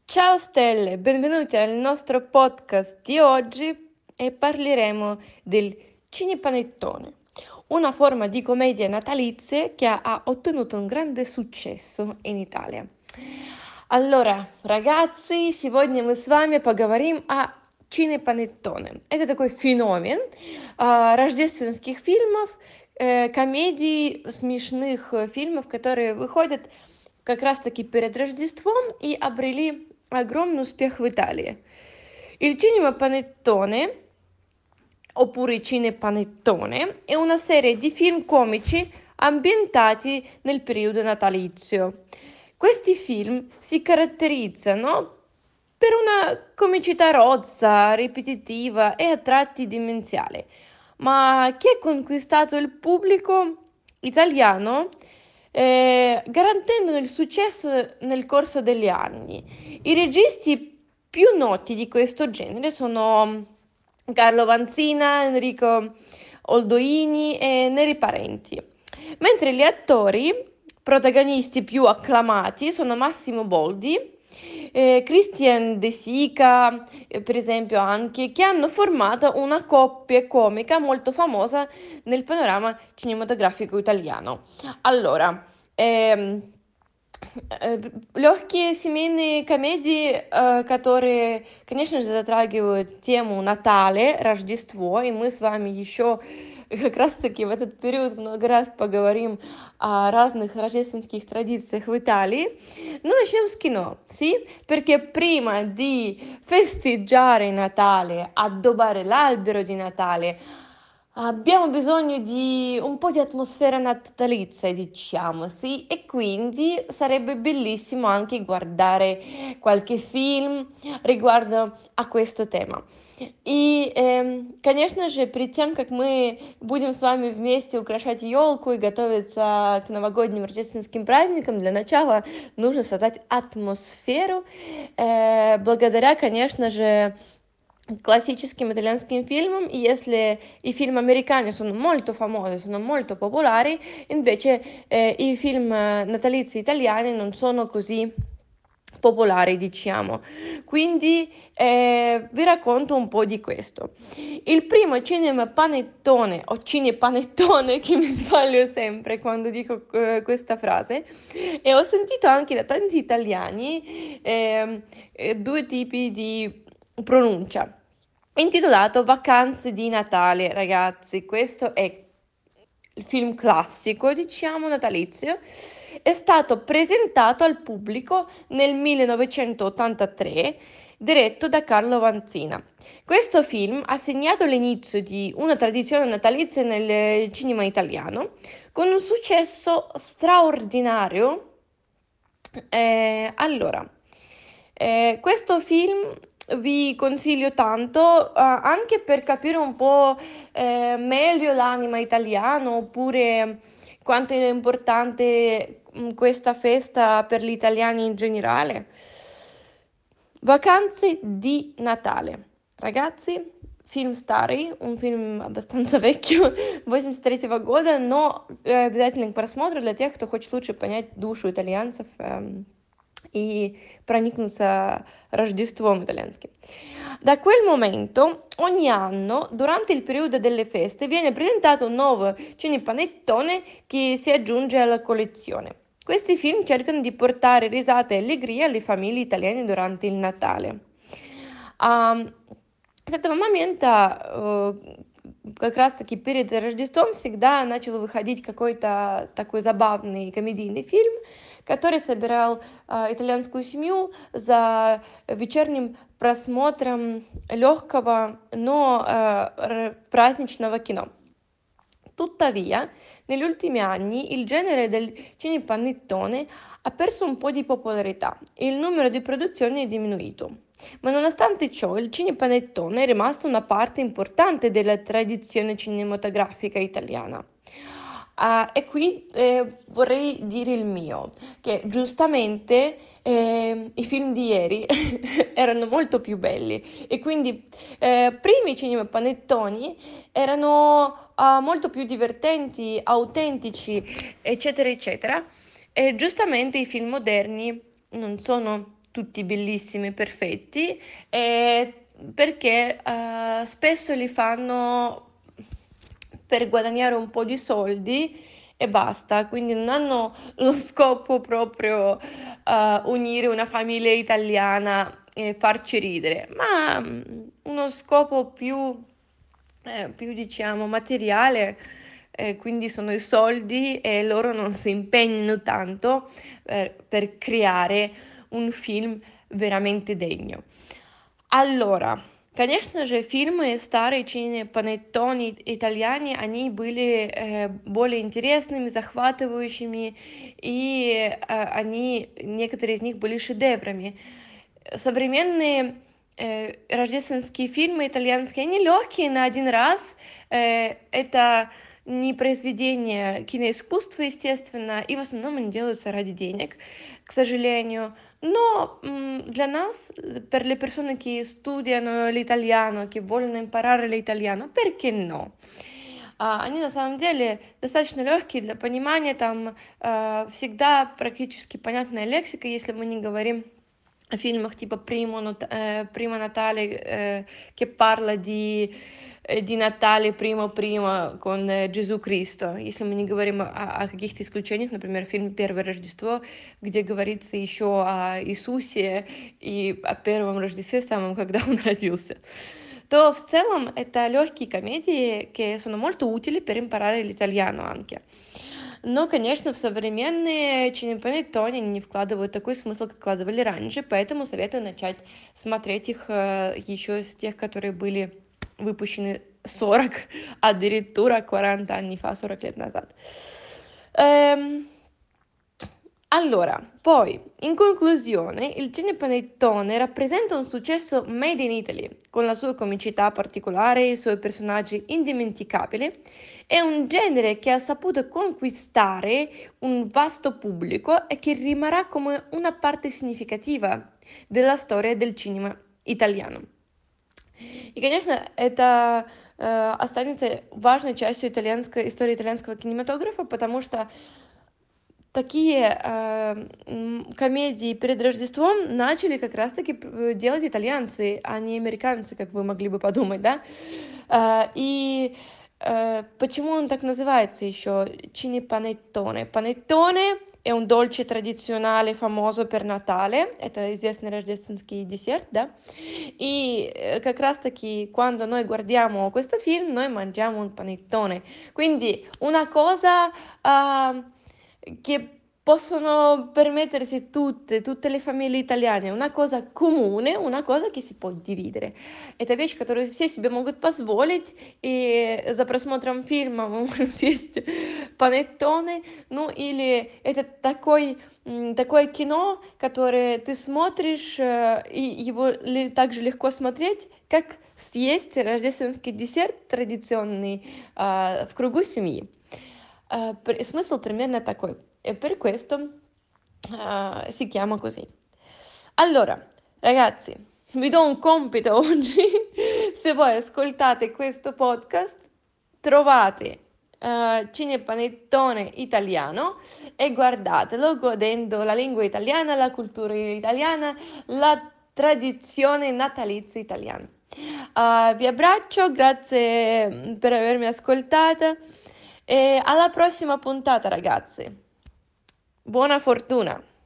Ciao Stelle, benvenuti al nostro podcast di oggi e parleremo del cinepanettone, una forma di commedia natalizia che ha ottenuto un grande successo in Italia. Allora, ragazzi, сегодня мы с вами поговорим о Чинепанеттоне. Это такой феномен рождественских фильмов, комедий, смешных фильмов, которые выходят как раз-таки перед Рождеством и обрели огромный успех в Italia. Il cinema panettone, oppure cinepanettone, è una serie di film comici ambientati nel periodo natalizio. Questi film si caratterizzano per una comicità rozza, ripetitiva e a tratti demenziale, ma che ha conquistato il pubblico italiano garantendone il successo nel corso degli anni. I registi più noti di questo genere sono Carlo Vanzina, Enrico Oldoini e Neri Parenti, mentre gli attori protagonisti più acclamati sono Massimo Boldi, Christian De Sica, per esempio anche, che hanno formato una coppia comica molto famosa nel panorama cinematografico italiano. Allora, легкие семейные комедии, которые, конечно же, затрагивают тему Натали, Рождество, и мы с вами еще как раз-таки в этот период много раз поговорим о разных рождественских традициях в Italia. No, начнем с кино, sì? Perché prima di festeggiare Natale, addobbare l'albero di Natale, abbiamo bisogno di un po' di atmosfera natalizia, diciamo, sì? E quindi sarebbe bellissimo anche guardare qualche film riguardo a questo tema. И, конечно же, перед тем, как мы будем с вами вместе украшать елку и готовиться к новогодним рождественским праздникам, для начала нужно создать атмосферу, благодаря, конечно же, classicischi italianskim film, если i film americani sono molto famosi, sono molto popolari, invece i film natalizi italiani non sono così popolari, diciamo. Quindi vi racconto un po' di questo. Il primo cinema panettone o cinepanettone, che mi sbaglio sempre quando dico questa frase, e ho sentito anche da tanti italiani due tipi di pronuncia. Intitolato Vacanze di Natale, ragazzi, questo è il film classico, diciamo, natalizio, è stato presentato al pubblico nel 1983, diretto da Carlo Vanzina. Questo film ha segnato l'inizio di una tradizione natalizia nel cinema italiano, con un successo straordinario. Allora, questo film vi consiglio tanto, anche per capire un po' meglio l'anima italiana, oppure quanto è importante questa festa per gli italiani in generale. Vacanze di Natale. Ragazzi, фильм старый, он фильм абbastanza vecchio, 83 года, но обязательно к просмотру для тех, кто хочет лучше понять душу итальянцев и проникнуться Rождеством italianskim. Da quel momento, ogni anno, durante il periodo delle feste, viene presentato un nuovo cinepanettone che si aggiunge alla collezione. Questi film cercano di portare risate e allegria alle famiglie italiane durante il Natale. С этого момента как раз-таки перед Рождеством всегда начал выходить какой-то такой забавный комедийный фильм, который собирал итальянскую семью за вечерним просмотром легкого, но праздничного кино. Tuttavia, negli ultimi anni il genere del cinepanettone ha perso un po' di popolarità e il numero di produzioni è diminuito. Ma nonostante ciò, il cinepanettone è rimasto una parte importante della tradizione cinematografica italiana. E qui vorrei dire il mio, che giustamente i film di ieri erano molto più belli e quindi prima i cinepanettoni erano molto più divertenti, autentici, eccetera, eccetera. E giustamente i film moderni non sono tutti bellissimi, perfetti, perché spesso li fanno per guadagnare un po' di soldi e basta, quindi non hanno lo scopo proprio unire una famiglia italiana e farci ridere, ma uno scopo più diciamo materiale, quindi sono i soldi e loro non si impegnano tanto per creare un film veramente degno. Allora, конечно же, фильмы, старые панеттони итальяне, они были более интересными, захватывающими, и некоторые из них были шедеврами. Современные рождественские фильмы итальянские, они легкие на один раз, это не произведение киноискусства, естественно, и в основном они делаются ради денег, к сожалению. No, для нас, per le persone che studiano l'italiano, che vogliono imparare l'italiano, perché no? Они на самом деле достаточно легкие для понимания, там всегда практически понятная лексика, если мы не говорим о фильмах типа Primo Natale, che parla di Natale primo con Gesù Cristo. Если мы не говорим о каких-то исключениях, например, фильм «Первое Рождество», где говорится еще о Иисусе и о первом Рождестве самом, когда он родился, то в целом это легкие комедии che sono molto utili per imparare l'italiano anche. Но, конечно, в современные Cinepane-Тони они не вкладывают такой смысл, как вкладывали раньше, поэтому советую начать смотреть их еще с тех, которые были выпущены 40, addirittura 40 anni fa, 40 лет назад. Allora, poi, in conclusione, il cinepanettone rappresenta un successo made in Italy, con la sua comicità particolare e i suoi personaggi indimenticabili. È un genere che ha saputo conquistare un vasto pubblico e che rimarrà come una parte significativa della storia del cinema italiano. И, конечно, это останется важной частью истории итальянского кинематографа, потому что такие комедии перед Рождеством начали как раз-таки делать итальянцы, а не американцы, как вы могли бы подумать, да? И почему он так называется еще? Cinepanettone. Panettone è un dolce tradizionale famoso per Natale, это известный рождественский десерт, да? E как раз-таки quando noi guardiamo questo film, noi mangiamo un panettone. Quindi una cosa che possono permettersi tutte le famiglie italiane, una cosa comune, una cosa che si può dividere. Это вещь, которую все себе могут позволить, и за просмотром фильма мы можем съесть панеттоне, ну или это такое кино, которое ты смотришь, и его так же легко смотреть, как съесть рождественский десерт традиционный в кругу семьи. Смысл примерно такой. E per questo si chiama così. Allora, ragazzi, vi do un compito oggi. Se voi ascoltate questo podcast, trovate Cinepanettone italiano e guardatelo godendo la lingua italiana, la cultura italiana, la tradizione natalizia italiana. Vi abbraccio, grazie per avermi ascoltata e alla prossima puntata, ragazzi. Buona fortuna!